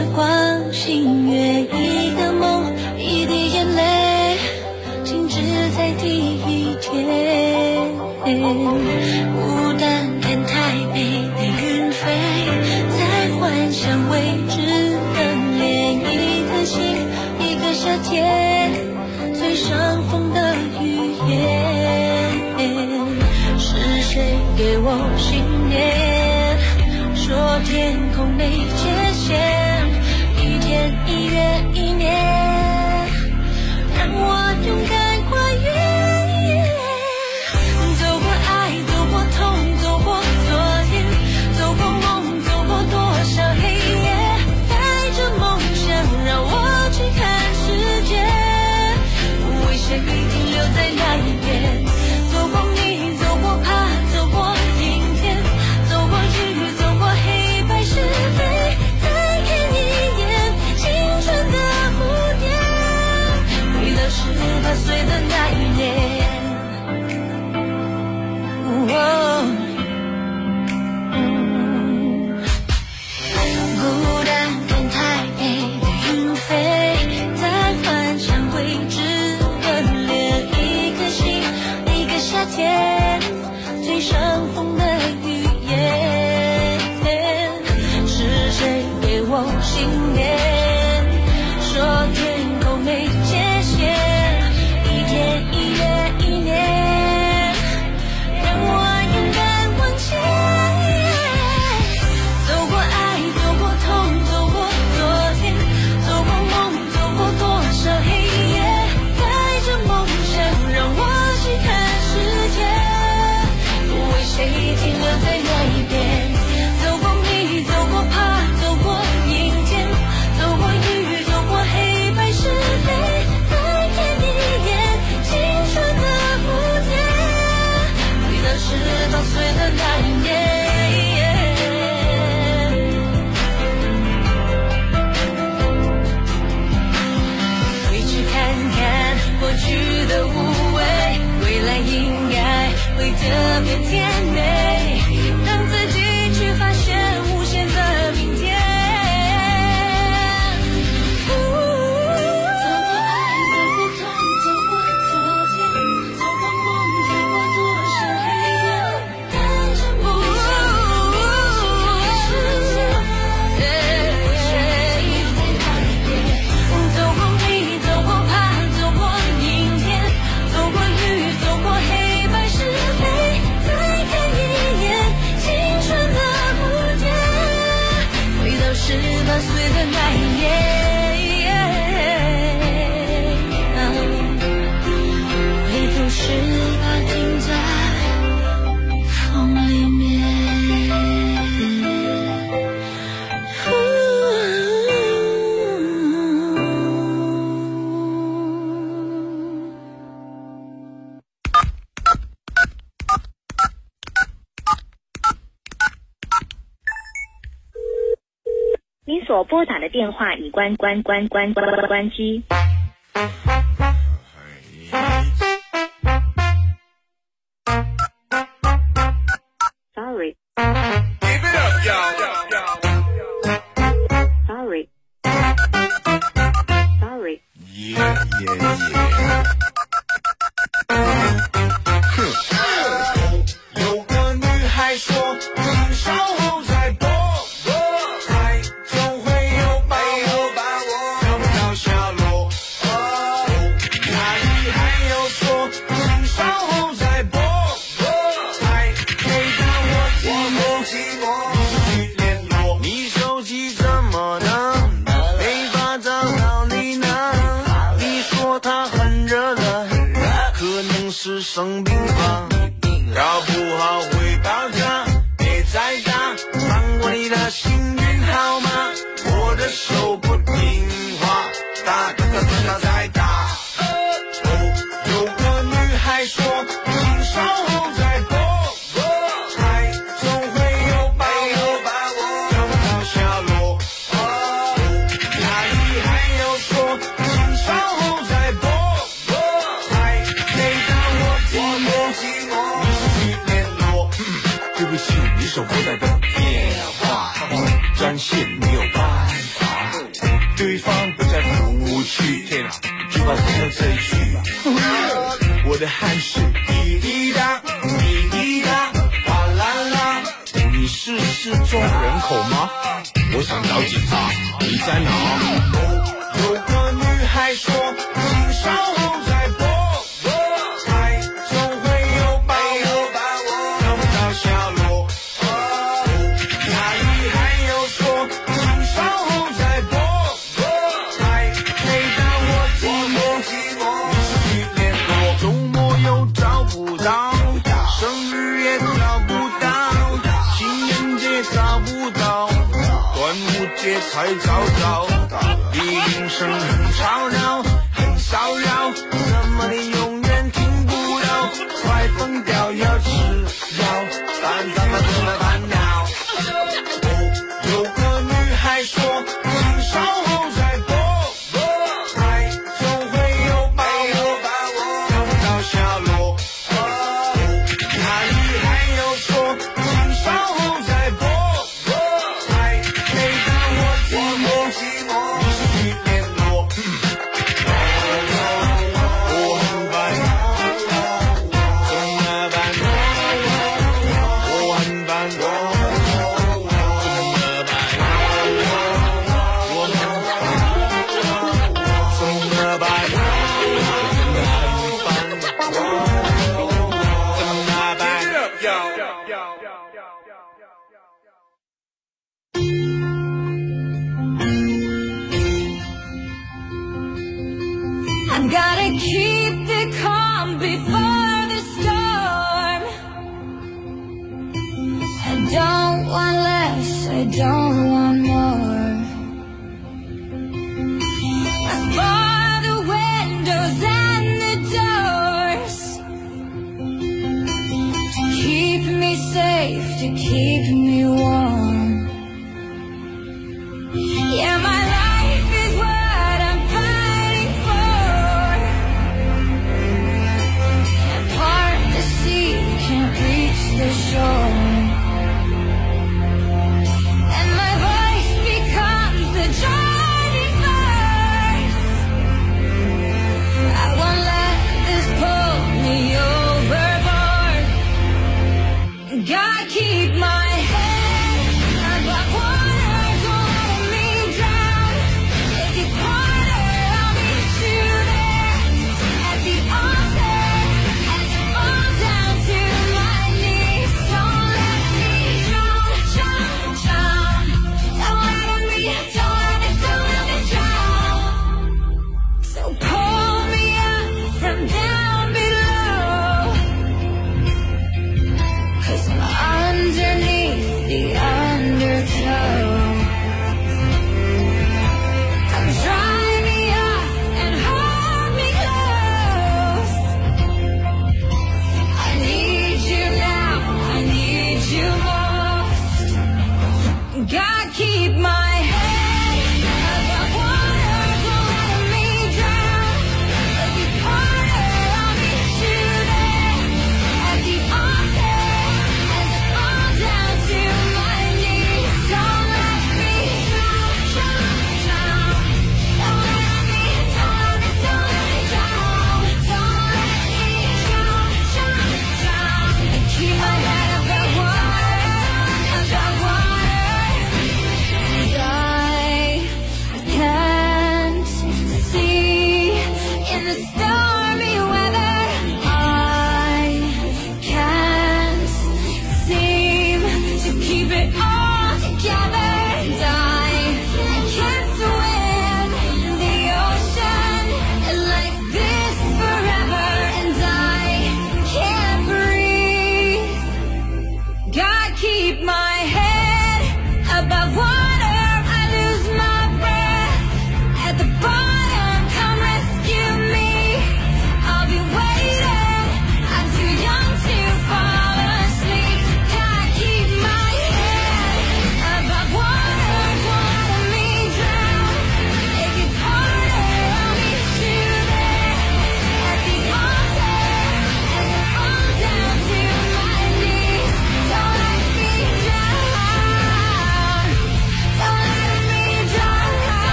光，星月一个梦，一滴眼泪静止在第一天。孤单看台北的云飞，在幻想未知的连一颗心，一个夏天最伤风的语言。是谁给我信念，说天空没界限，一天一月一年，让我勇敢跨越。走过爱，走过痛，走过昨天，走过梦，走过多少黑夜，带着梦想让我去看世界，为谁停留在那一边。走过你，走过怕，走过阴天，走过雨，走过黑白是非，再看一眼青春的蝴蝶，回到18岁的那一年。孤单看台北的云飞，在幻想未知的连一颗心，一个夏天最伤风的语言。是谁给我信念，说天空没界限，一天一月一年，让我勇敢往前。走过爱，走过痛，走过昨天，走过梦，走过多少黑夜，带着梦想让我去看世界，为谁停留在那一边。走过你，走过怕，走过阴天，走过雨，走过黑白是非，再看一眼青春的蝴蝶，回到18岁的那一年。回去看看过去的无畏，未来应该会特别甜美，让自己去发现无限的明天。走过爱，走过痛，走过昨天，走过梦，走过多少黑夜，带着梦想让我去看世界，为谁在那一边。走过你，走过怕，走过阴天，走过雨，走过黑白是非，再看一眼青春的蝴蝶，回到18岁的那一年。唯独18停在风里面。 您所拨打的电话已关机。Sorry. Keep it up, y'all. Sorry. Sorry. Yeah. 有个女孩说，停稍后再拨，爱总会有把握，找不到下落。哪里还有说，停稍后再拨，爱每当我寂寞，你去联络。你手机怎么了？没法找到你呢。你说它很热了，可能是生病吧。搞不好会爆炸，别再打，放过你的幸运号码。我的手不听话，打再打。有个女孩说，停稍后再拨，爱总会有把握，找不到下落。哪里还有说，停稍后再拨，爱每当我寂寞。对不起，你所拨打的电话已占线，没有办法。 对方不再很无趣。天啊，就怕听到这一句吧。我的汗水滴滴答，滴滴答，哗啦啦。你是失踪人口吗？我想找警察，你在哪？有个女孩说，请稍后再拨，爱总会有把握，找不到下落。那女孩又说，请稍后再拨，爱每当我寂寞，你失去联络，周末又找不到，生日也找不到，情人节找不到，端午节才找到，笛铃声很吵闹，很骚扰，怎么你永远听不到？快疯掉，要吃药，烦恼。有个女孩说，请稍后再拨，爱总会有把握，找不到下落。那女孩又说，请稍后再拨，爱每当我寂寞，你失去联络。我很烦，怎么办？我很烦，怎么办？我很烦，怎么办？我真的很烦，怎么办？ I gotta keep the calm before the storm. I don't want less, I don't want more. I bar the windows and the doors to keep me safe, to keep me warm. Yeah, my life is what I'm fighting for. Can't part the sea, can't reach the shore. And my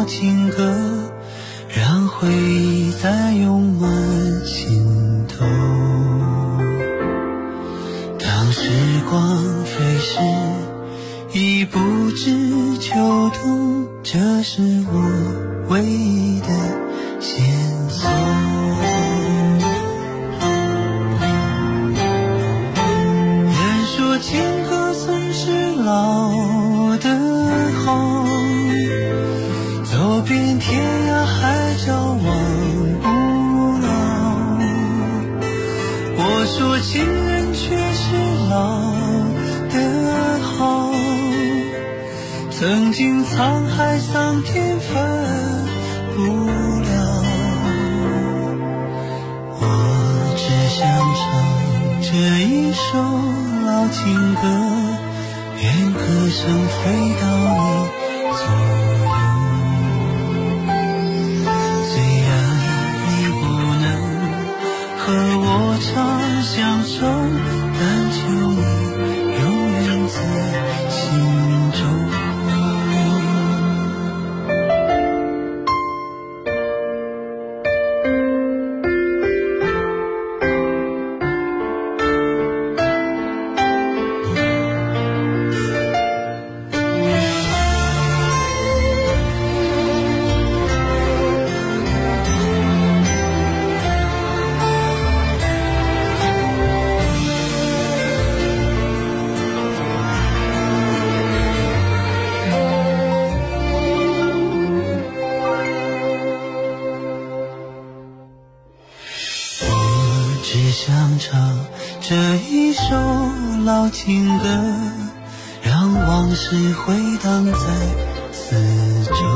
情歌，让回忆再涌满心头。当时光飞逝，已不知秋冬，这是我唯一的线索。人说情歌总是老的好，走遍天涯海角忘不了。我说情人却是老的好，曾经沧海桑田分不了。我只想唱这一首老情歌，愿歌声飞到你左右。虽然你不能和我长相守，但求你永远在心中。只想唱这一首老情歌，让往事回荡在四周。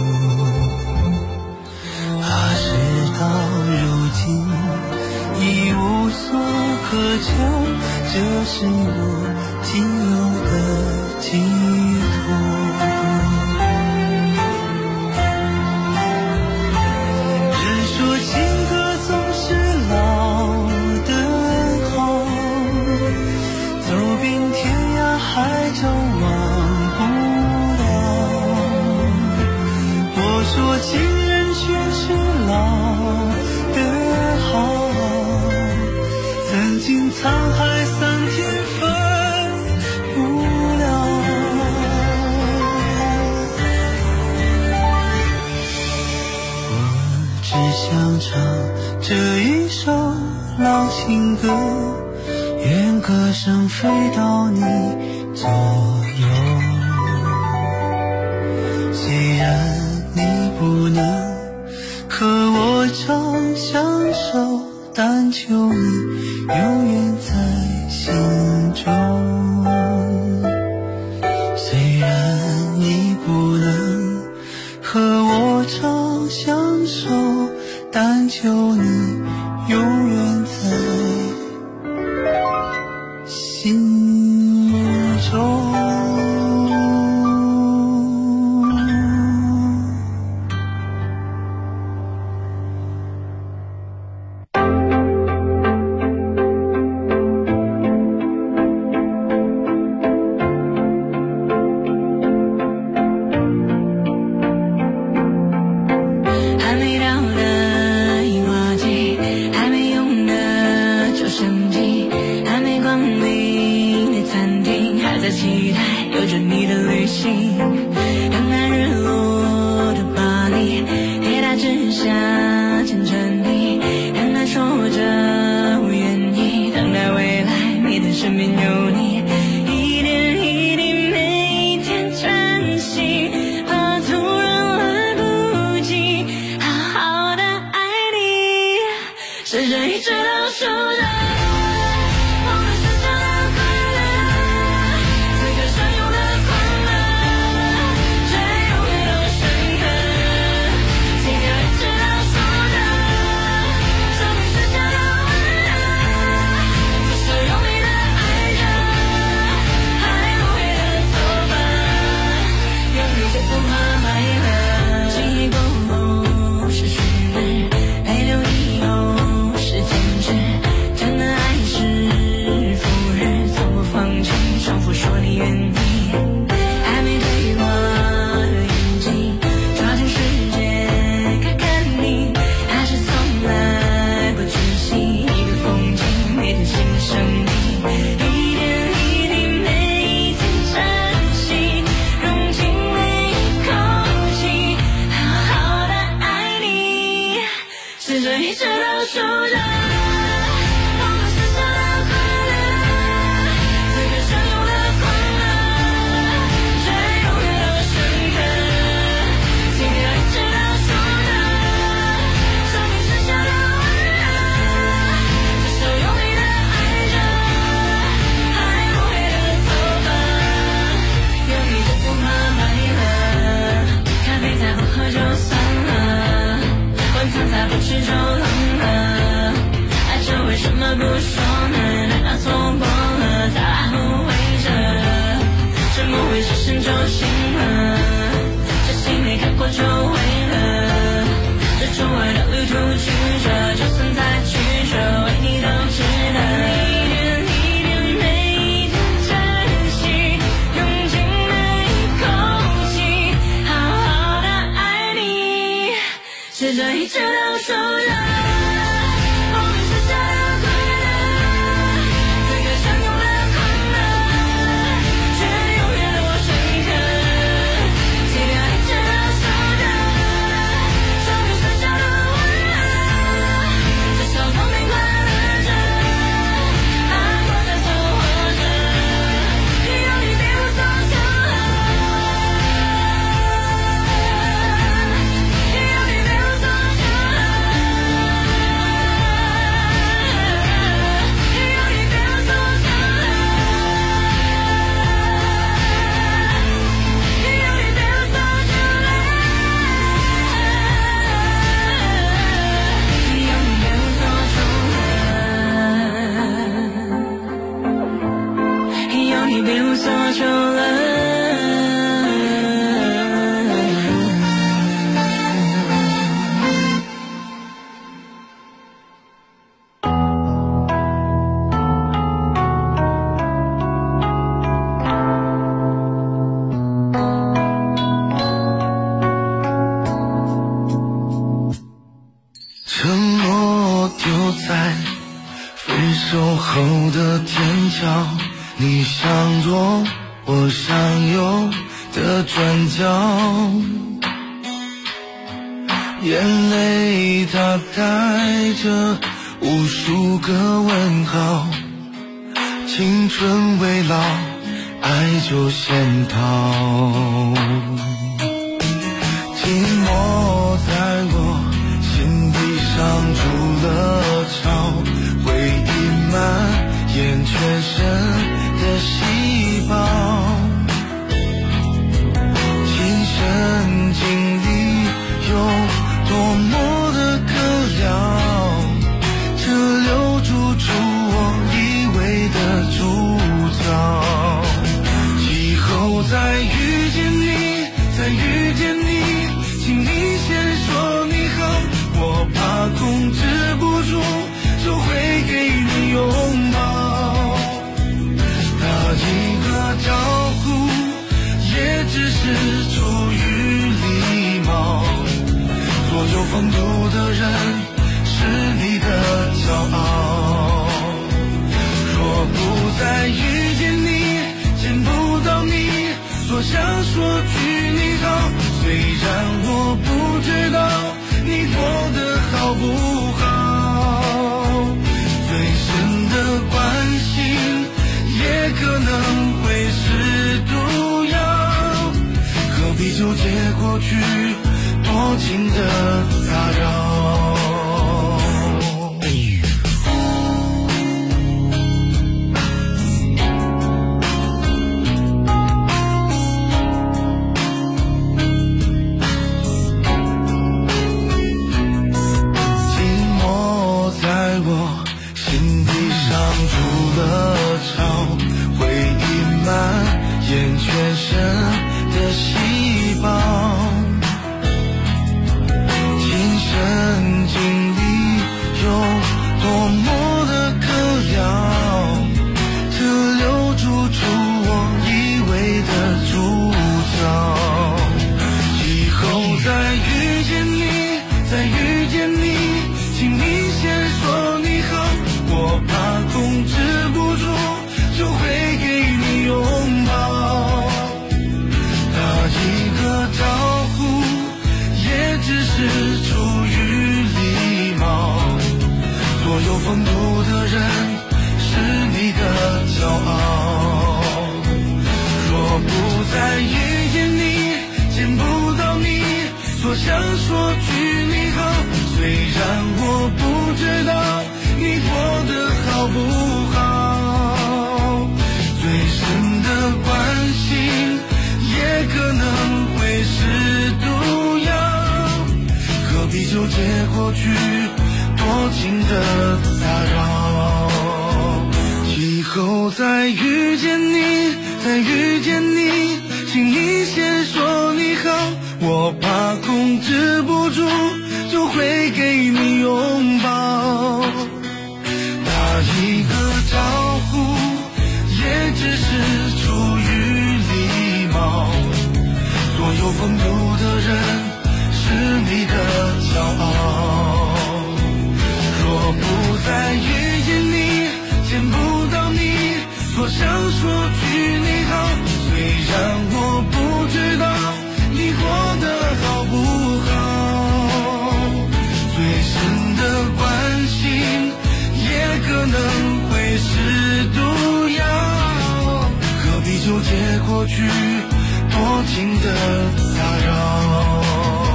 怕事到如今已无所可求，这是我仅有的寄托。人说情歌总是老的好，走遍天涯海角忘不了。我说情人却是老的好，曾经沧海桑田分不了。我只想唱这一首老情歌，愿歌声飞到你左右。虽然你不能和我长相守，但求你永远在心中。虽然你不能和我长相守，但求你永远在心中。 还没到的樱花季，还没用的旧相机，还没光临的餐厅，还在期待有着你的旅行。等待日落的巴黎，铁塔之下牵着你，等待说着我愿意，等待未来每天身边有你，一点一滴每一天珍惜，怕突然来不及好好的爱你，是这一直倒数着我们剩下的快乐，此刻相拥的快乐，却永远都深刻，心跳一直倒数着生命剩下的温热，只是用力的爱着，还不会的走吧，用力就不怕快乐。记忆过后是虚日，泪流以后是坚持，真的着一直都数着我们剩下的快乐，此刻相拥的狂热，却永远都深刻。今天一直都数着生命剩下的温热，这首用力的爱着，还不黑的头发，有你就不怕白了，咖啡再不喝就算了，晚餐再不吃就冷了，爱着为什么不说呢？难道错过了再来后悔着，沉默会失声就醒了，这心没看过就会了，这周围的旅途曲折，就算再曲折，为你都值得。一点每一天珍惜，用尽每一口气，好好的爱你，试着一直都数着我们剩下的快乐，此刻相拥的狂热，却永远都深刻。今天一直都数着生命剩下的温热，至少童年快乐着，爱过再凑合着，有你别无所求了，有你别无所求了，有你别无所求了，有你别无所求了，有你别无所求了，有你别无所求了。 承诺丢在分手后的天桥，你想做我想有的转角，眼泪它带着无数个问号，青春未老，爱就先逃，寂寞在我心底上筑了巢，回忆蔓延全身的细胞，亲身经历有多么的可聊，这留住出我以为的主角，以后再遇见你，再遇见你，请你先说你好，我怕控制不住就会给你拥抱，打一个招呼也只是出于礼貌，所有风度的人是你的骄傲，若不再遇见你，见不到你，多想说句你好，虽然我不知道你过得好不好，最深的关心也可能会是毒药，何必纠结过去多情的打扰。全身的细胞，亲身经历有多么的可聊，这留住出我以为的主角，以后再遇见你，再遇见你，请你先说你好，我怕控制不住就会给你拥抱，一个招呼也只是出于礼貌， 所有风度的人是你的骄傲。若不再遇见你，见不到你，多想说句你好。虽然我不知道你过得好不好，最深的关心也可能会是毒药。何必纠结过去，多情的打扰。以后再遇见你，再遇见你，请你先说你好，我怕控制不住就会给你拥抱。打一个招呼也只是出于礼貌，所有风度的人是你的骄傲。若不再遇见你，见不到你，多想说句你好。虽然我不知道你过得好不好，最深的关心也可能会是毒药。何必纠结过去，多情的打扰。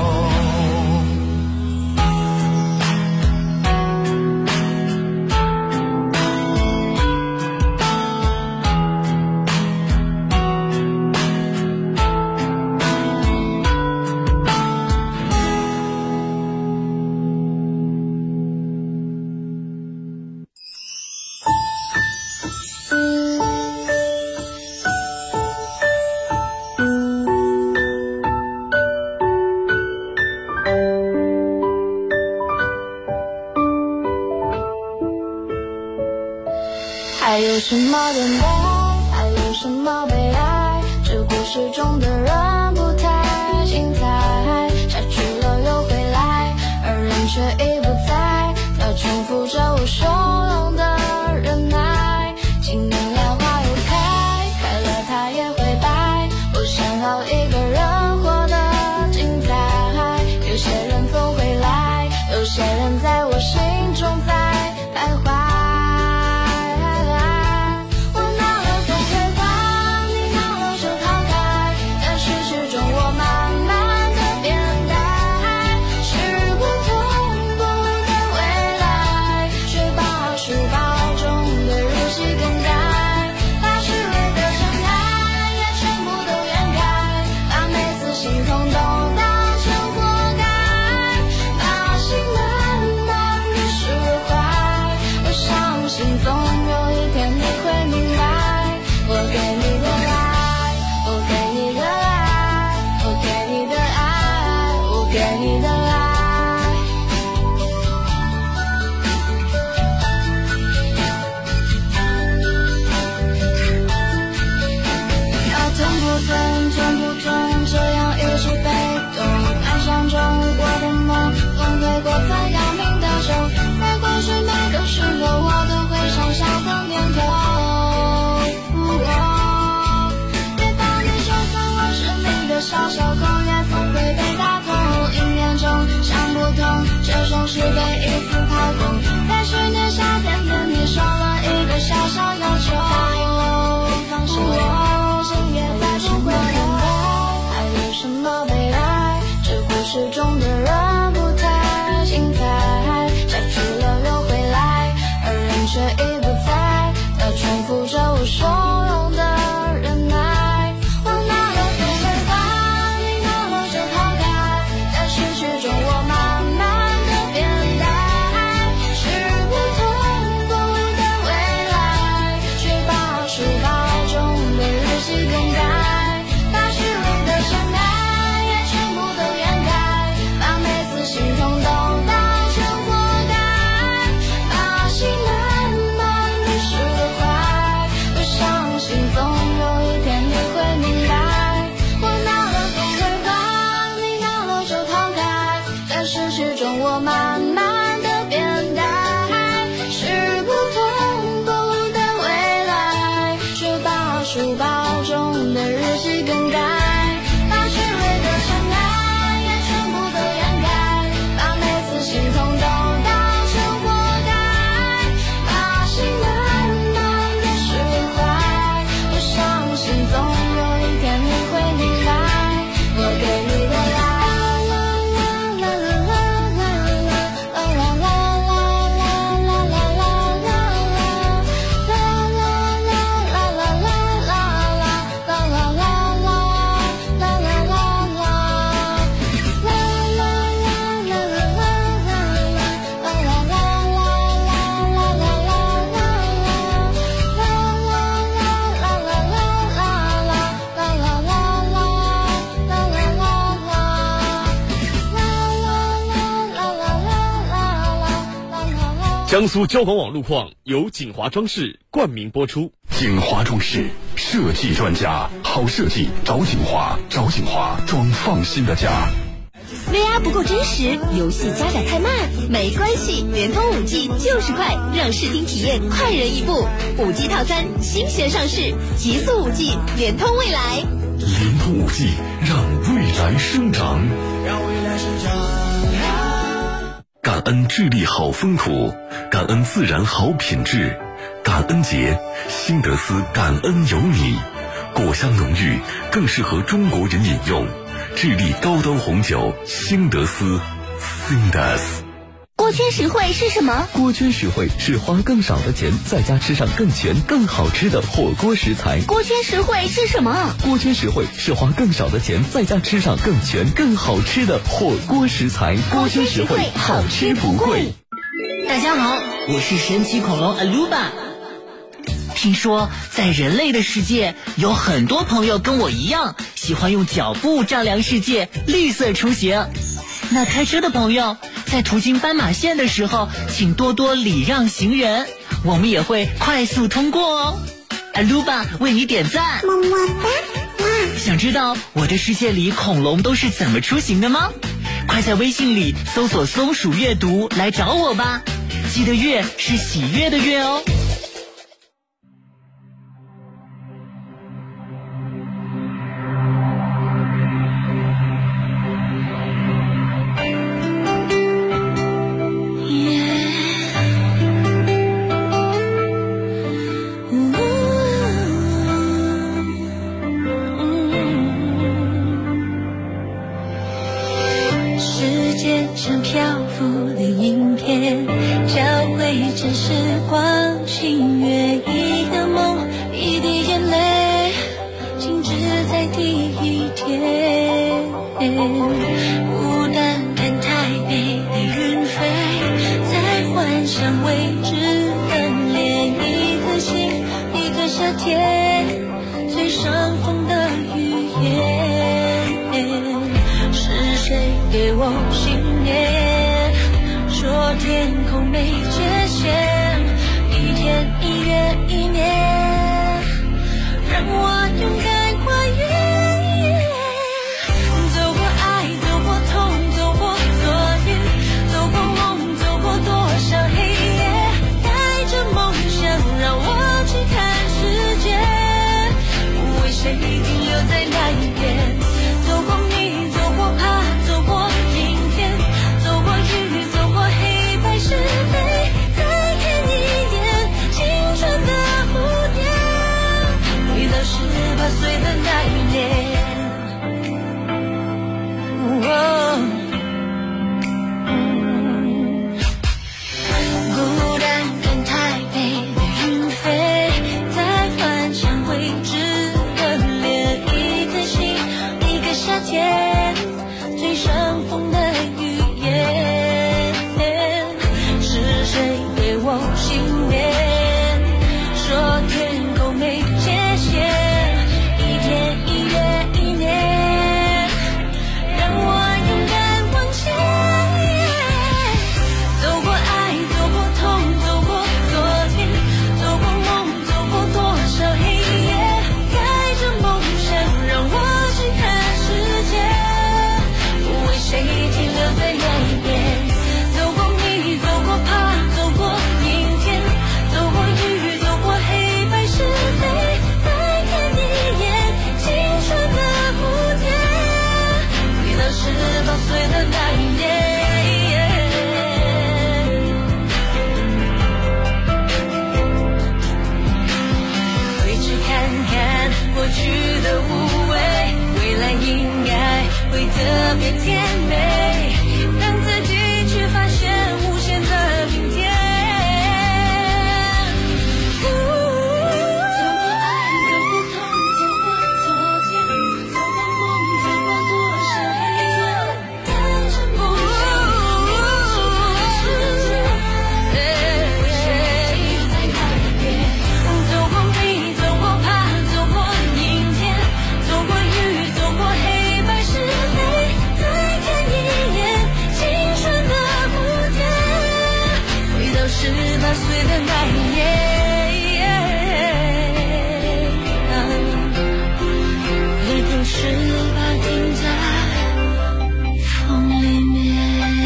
还有什么等待，还有什么悲哀，这故事中的人不太精彩，下去了又回来，而人却已不在，他重复着我汹涌的忍耐。今年莲花又开，开了它也会败，我想要一个人活得精彩。有些人总会来，有些人在我心中在徘徊。是被一次炮轰，在去年夏天跟你说了一个小小要求，放心我心也在不会等待。还有什么悲哀，这故事中的人不太精彩，下去了又回来，而人却已不在，他重复着我汹涌的忍耐。我拿了玫瑰花，你拿了这抛开，在失去中我慢慢心痛都当成活该，把心慢慢江苏交广网路况由锦华装饰冠名播出。 锦华装饰设计专家，好设计找锦华，找锦华装放心的家。 VR 不够真实，游戏加载太慢，没关系，联通 5G 就是快，让视听体验快人一步。5G 套餐新鲜上市，极速 5G， 联通未来。 联通 5G， 让未来生长。 让未来生长。 感恩智利好风土，感恩自然好品质。感恩节，新德斯感恩有你，果香浓郁，更适合中国人饮用。智利高端红酒新德斯 Sindas。 锅圈实惠是什么？ 锅圈实惠是花更少的钱，在家吃上更全更好吃的火锅食材。 锅圈实惠是什么？ 锅圈实惠是花更少的钱，在家吃上更全更好吃的火锅食材。锅圈实惠，好吃不贵。 大家好，我是神奇恐龙 Aluba。听说在人类的世界，有很多朋友跟我一样，喜欢用脚步丈量世界，绿色出行。那开车的朋友，在途经斑马线的时候，请多多礼让行人，我们也会快速通过哦。Aluba 为你点赞，么么哒！想知道我的世界里恐龙都是怎么出行的吗？快在微信里搜索松鼠阅读来找我吧，记得阅是喜悦的悦哦。 像漂浮的影片，交汇着时光，星月一个梦，一滴眼泪静止在第一天。孤单看台北的云飞，在幻想未知的连一颗心，一个夏天最上风的语言。是谁给我信念，说天空没界限，一天一月一年，让我勇敢跨越。走过爱，走过痛，走过昨天，走过梦，走过多少黑夜，带着梦想让我去看世界，为谁停留在那一边。走过你，走过怕，走过阴天，走过雨，走过黑白是非，再看一眼青春的蝴蝶，回到18岁的那一年。孤单看台北的云飞，在幻想未知的连一颗心，一个夏天最上风的语言。是谁给我信念，说天空没界限，一天一月一年，让我勇敢往前。走过爱，走过痛，走过昨天，走过梦，走过多少黑夜，带着梦想让我去看世界，为谁停留在那一边。走过你，走过怕，走过阴天，走过雨，走过黑白是非，再看一眼青春的蝴蝶，回到18岁的那一年。回去看看过去的无畏，未来应该会特别甜美，让自己去发现无限的明天。走过爱，走过痛，走过昨天，走过梦，走过多少黑夜，带着梦想让我去看世界，为谁在那一边。走过你，走过怕，走过阴天，走过雨，走过黑白是非，再看 18岁的那一年，回头18停在风里面。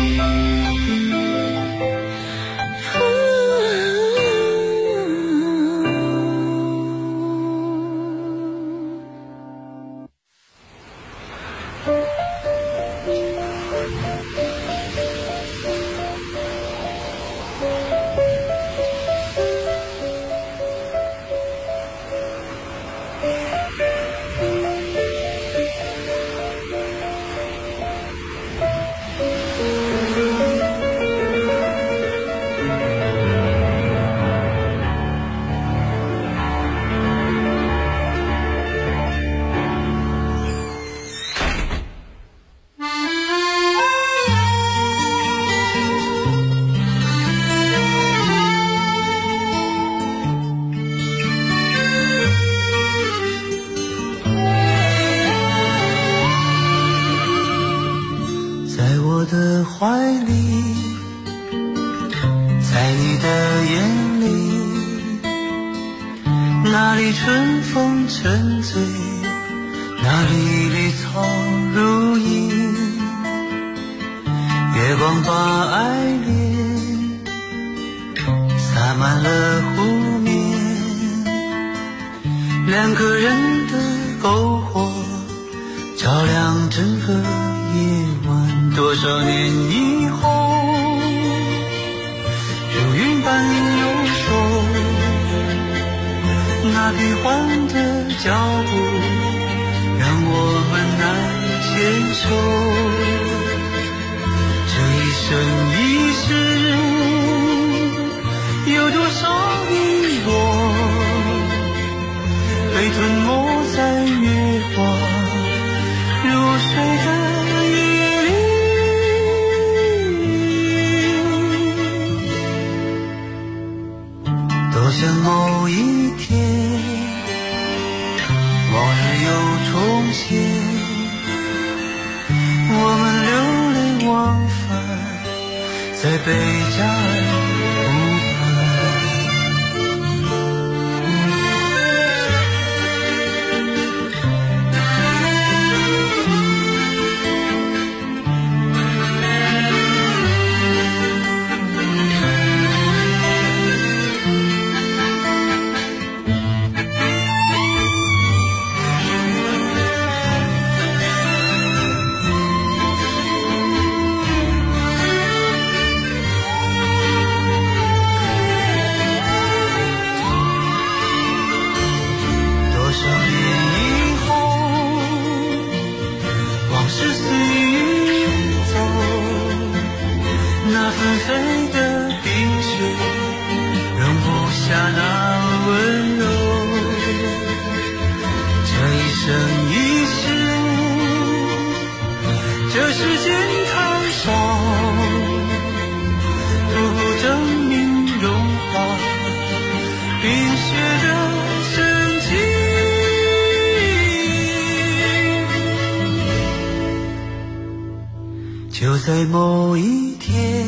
就在某一天，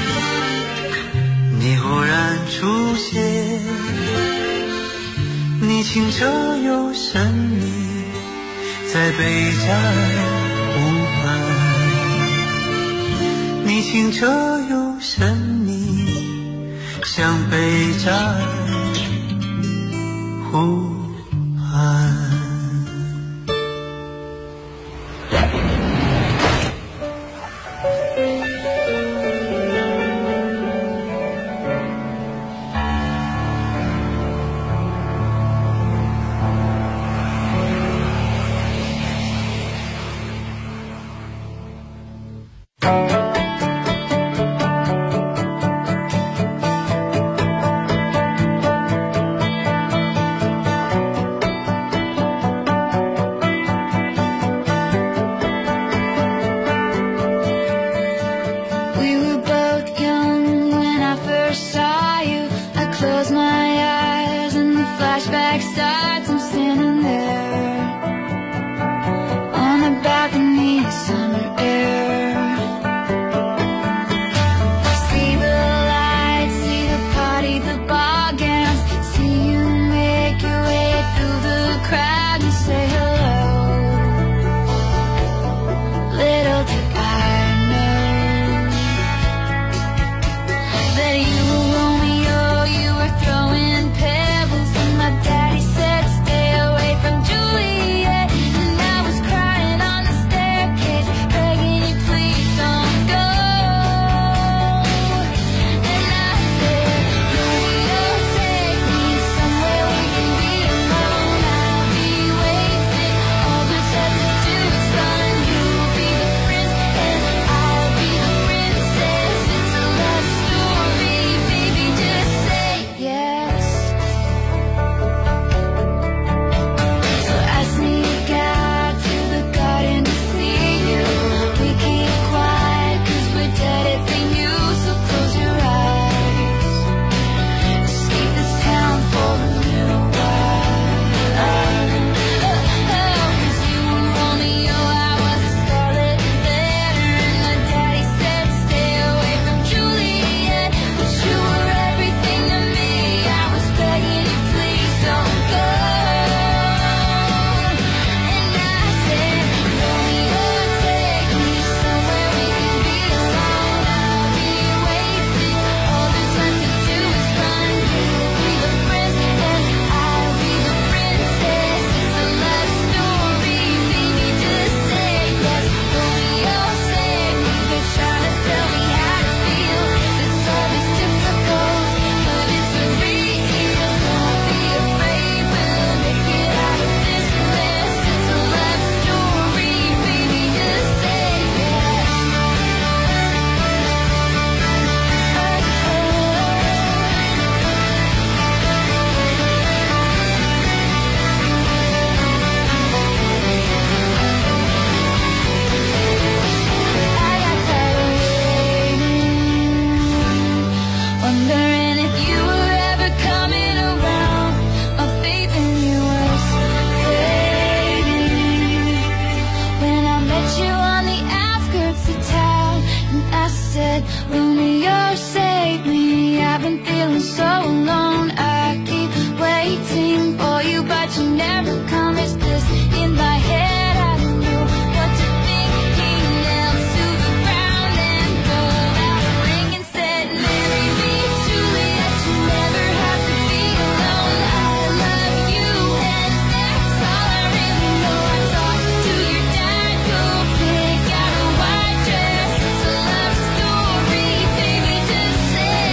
你忽然出现，你清澈又神秘，在北加尔湖畔。你清澈又神秘，像北加尔湖畔。 feeling so alone. I keep waiting for you, but you never come. Is this in my head? I don't know what to think. He knelt to the ground and pulled out a ring and said, marry me, Juliet. You never have to be alone. I love you, and that's all I really know. I talked to your dad, go pick out a white dress. It's a love story, baby, just say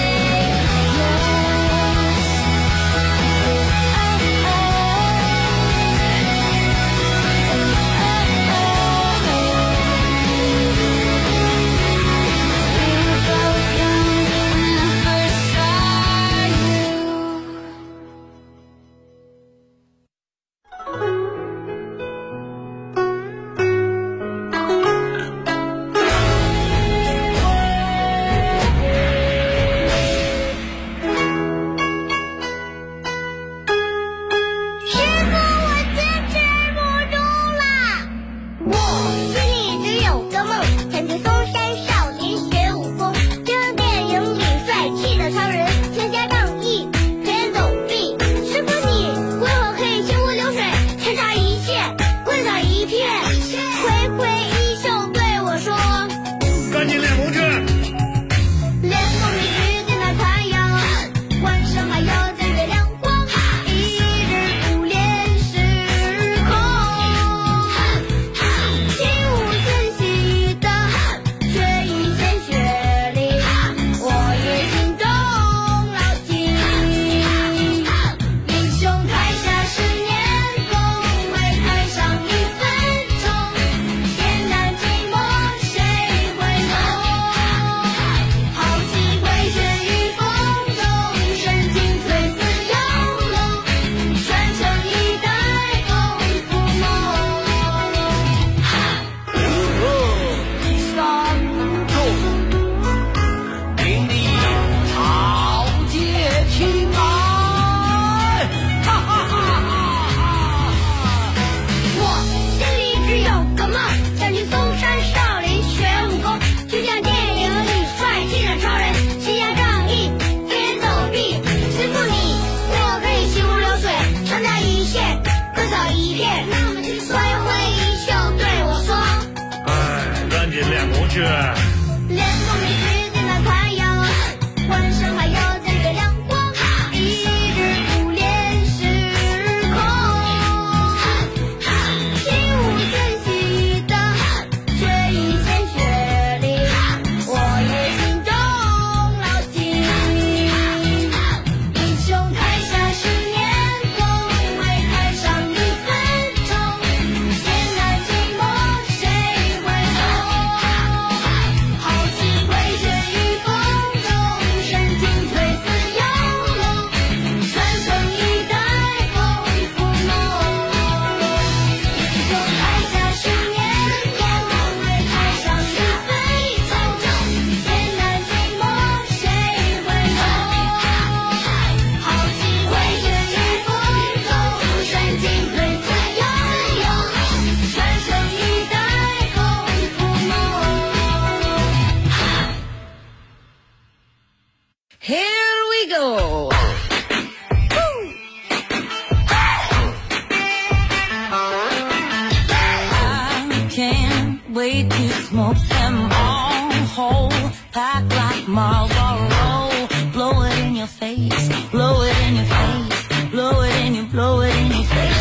wait to smoke them all whole, pack like Marlboro. Blow it in your face, blow it in your face, blow it in your, blow it in your face.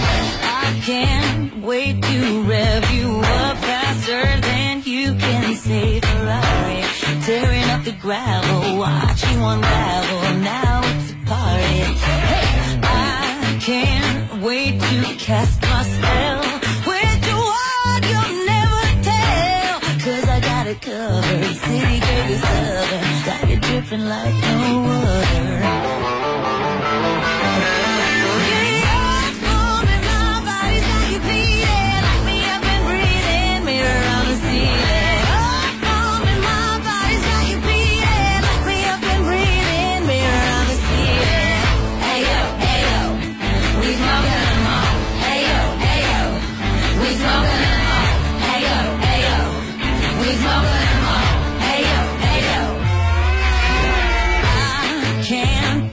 I can't wait to rev you up faster than you can say Ferrari. Tearing up the gravel, watch you unravel. Now it's a party. Hey, I can't wait to cast my spell. With you what you'll never tell, 'cause I got it covered. City girl is southern, got you dripping like no other.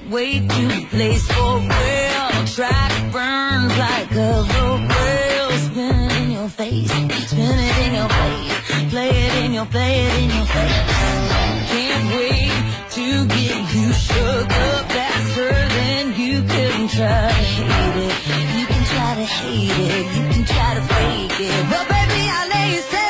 way too place for real. Track burns like a rail. Spin it in your face, spin it in your face. Play it in your face. Can't wait to get you shook up faster than you can try to hate it. You can try to hate it, you can try to fake it, but baby I lay you say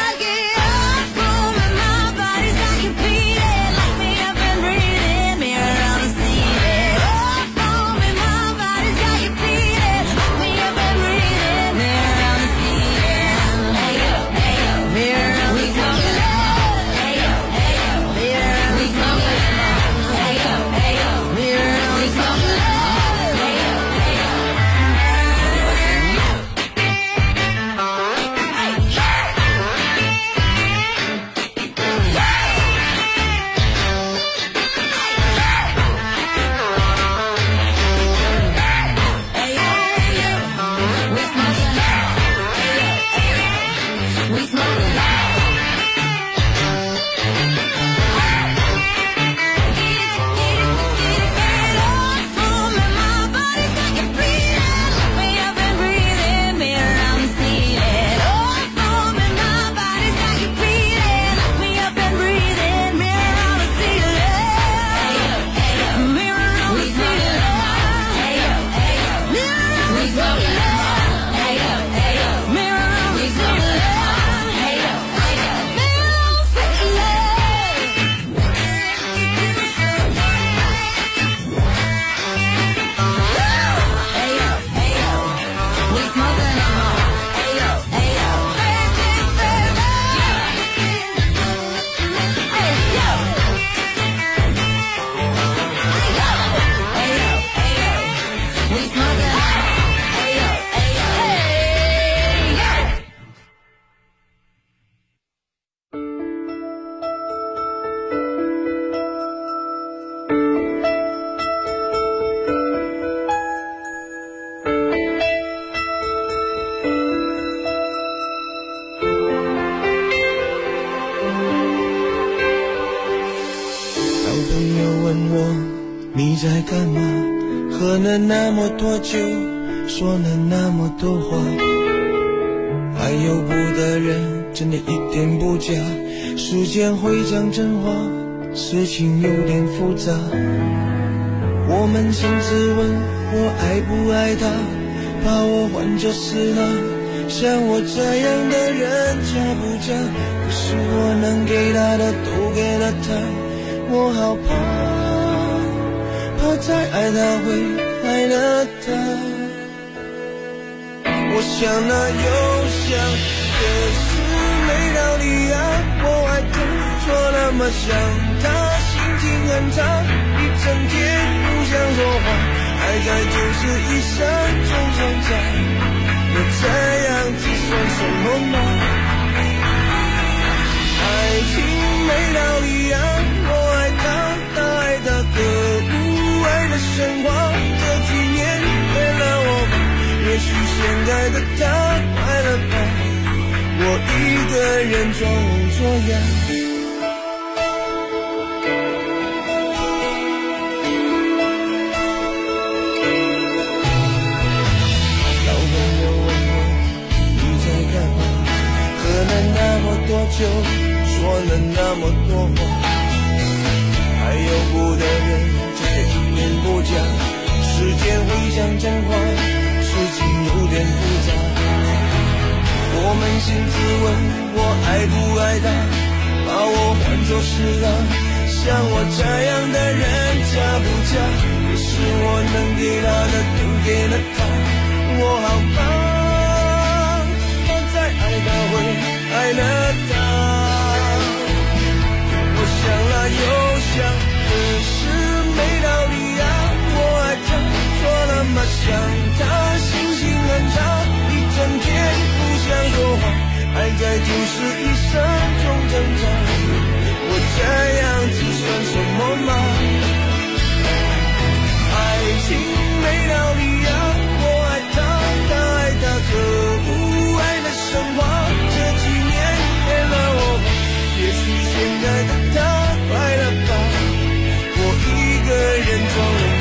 你在干嘛？喝了那么多酒，说了那么多话，爱有不的人真的一点不假，时间会讲真话，事情有点复杂。我扪心自问，我爱不爱他？把我换作是他，像我这样的人嫁不嫁？可是我能给他的都给了他，我好怕再爱他会爱了他。我想了又想，可是没道理啊！我爱他，说那么想他，心情很差，一整天不想说话，爱在就是一生中挣扎。我这样子算什么吗？爱情没道理啊！我爱他，他爱他，可神话这几年为了我吧，也许现在的他快乐吧，我一个人装聋作哑。老朋友问我你在干嘛，喝了那么多酒，说了那么多话，还有不的人一言不假，时间会讲真话，事情有点复杂。我扪心自问，我爱不爱他？把我换作是他，像我这样的人嫁不嫁？可是我能给他的都给了他，我好怕再爱他会爱了他。我想了又想，可是没道理啊！我爱他，说那么想他，心情很差，一整天不想说话，爱在就是一生中挣扎。我这样子算什么吗？爱情没道理啊！我爱他，他爱他，可不爱的神话，这几年给了我吧，也许现在的他快乐吧，我一个人装了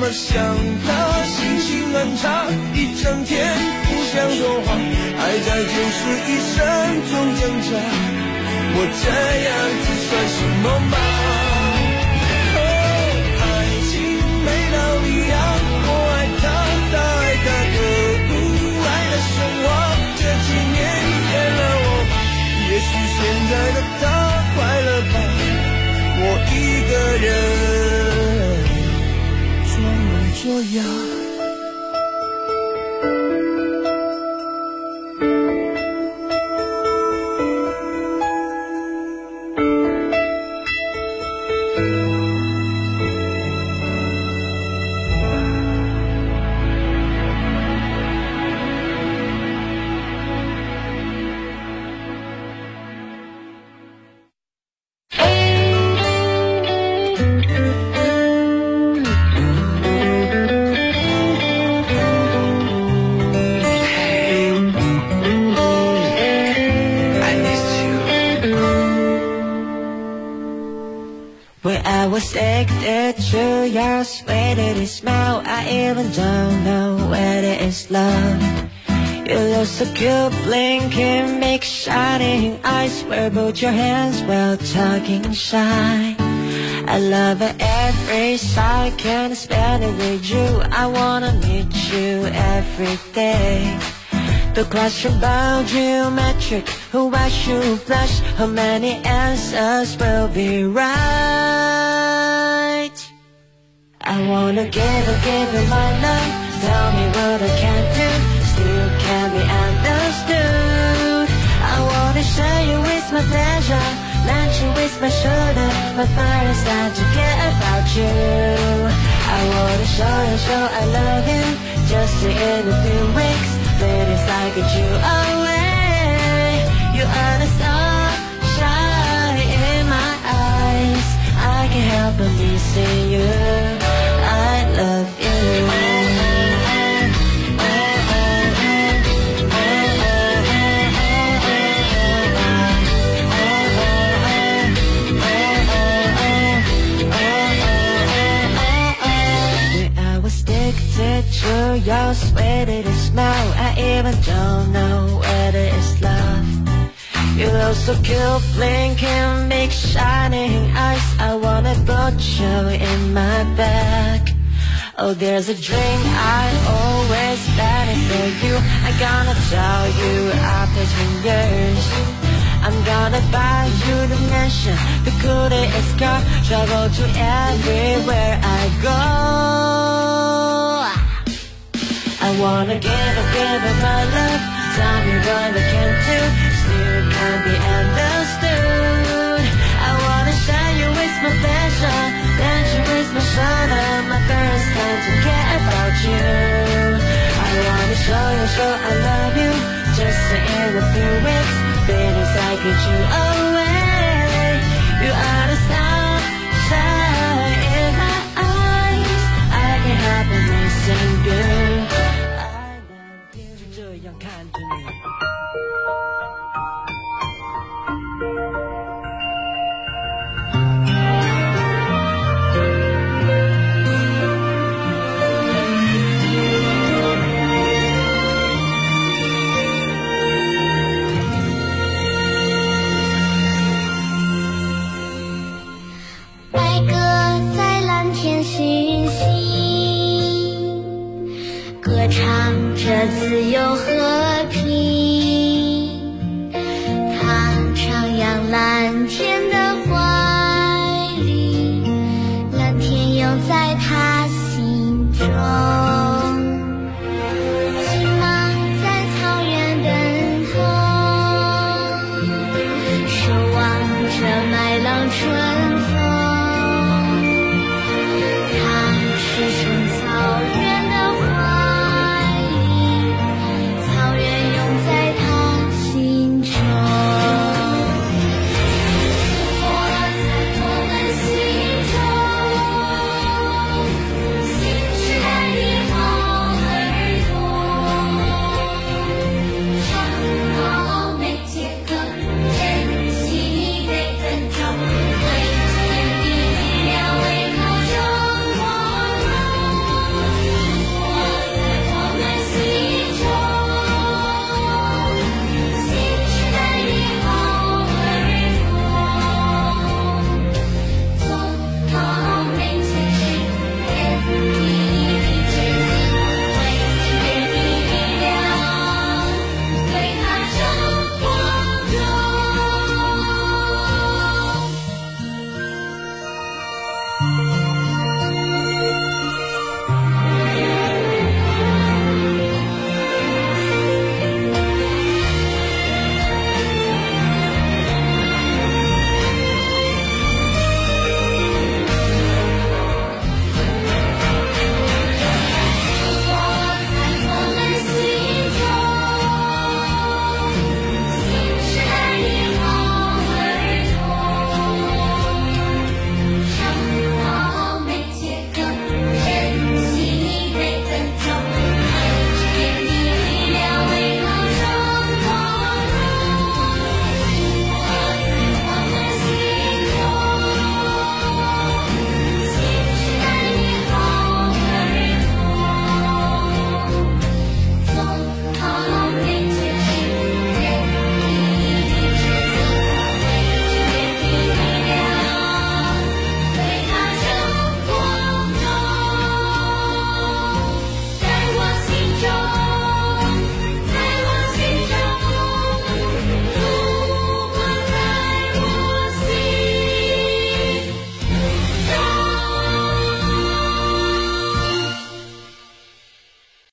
么想他，心情很差，一整天不想说话，还在91声中挣扎，我这样子算什么吗？爱情没道理啊，我爱他，他爱他，可恶，爱的神话，这几年骗了我吧，也许现在的他快乐吧，我一个人装模作样。 I was addicted to your sweet smell. I even don't know whether it's love. You look so cute, blinking, big shining eyes. Where both your hands while talking shy. I love it every second, spend it with you. I wanna meet you every day. The question about geometric, who I should blush, how many answers will be right. I wanna give you my love, tell me what I can do, still can't be understood. I wanna share you with my pleasure, let you with my shoulder, my fire is not to get about you. I wanna show I love you, just in a few weeks. Ladies, I get you away. You are the sunshine in my eyes. I can't help but missing you. I love you. I was addicted to your sweet smell. I even don't know whether it's love. You look so cute, blinking, big shining eyes. I wanna put you in my bag. Oh, there's a drink I always planning for you. I'm gonna tell you after 10 years. I'm gonna buy you the mansion, the coolest car, travel to everywhere I go. I wanna give you my love, tell me what I can do, still can't be understood. I wanna share you with my pleasure, let you with my shoulder, my first time to care about you. I wanna show I love you, just in a few weeks, feelings I get you